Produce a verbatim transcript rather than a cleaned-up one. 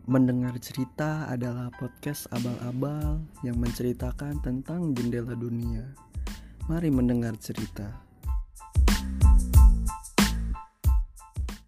Mendengar Cerita adalah podcast abal-abal yang menceritakan tentang jendela dunia. Mari mendengar cerita.